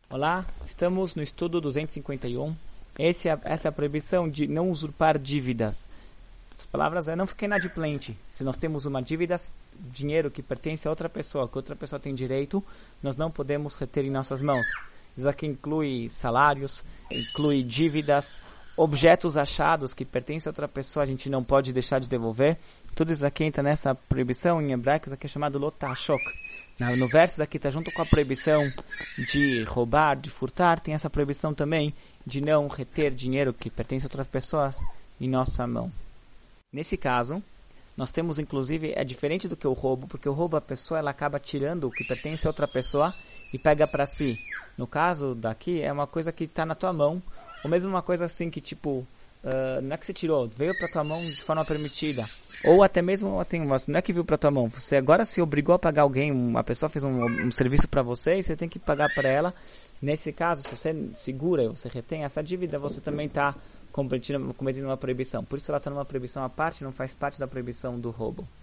Olá, estamos no estudo 251. Essa é a proibição de não usurpar dívidas. As palavras é: não fique inadimplente. Se nós temos uma dívida, dinheiro que pertence a outra pessoa, que outra pessoa tem direito, nós não podemos reter em nossas mãos. Isso aqui inclui salários, inclui dívidas, objetos achados que pertencem a outra pessoa, a gente não pode deixar de devolver. Tudo isso aqui entra nessa proibição. Em hebraico, isso aqui é chamado lotashok. No verso aqui está junto com a proibição de roubar, de furtar, tem essa proibição também de não reter dinheiro que pertence a outras pessoas em nossa mão. Nesse caso, nós temos inclusive, é diferente do que o roubo, porque o roubo a pessoa ela acaba tirando o que pertence a outra pessoa e pega para si. No caso daqui, é uma coisa que está na tua mão, ou mesmo uma coisa assim que tipo, não é que você tirou, veio para tua mão de forma permitida. Ou até mesmo assim, não é que veio para tua mão, você agora se obrigou a pagar alguém, uma pessoa fez um serviço para você e você tem que pagar para ela. Nesse caso, se você segura, você retém essa dívida, você também está cometendo uma proibição. Por isso ela está numa proibição à parte, não faz parte da proibição do roubo.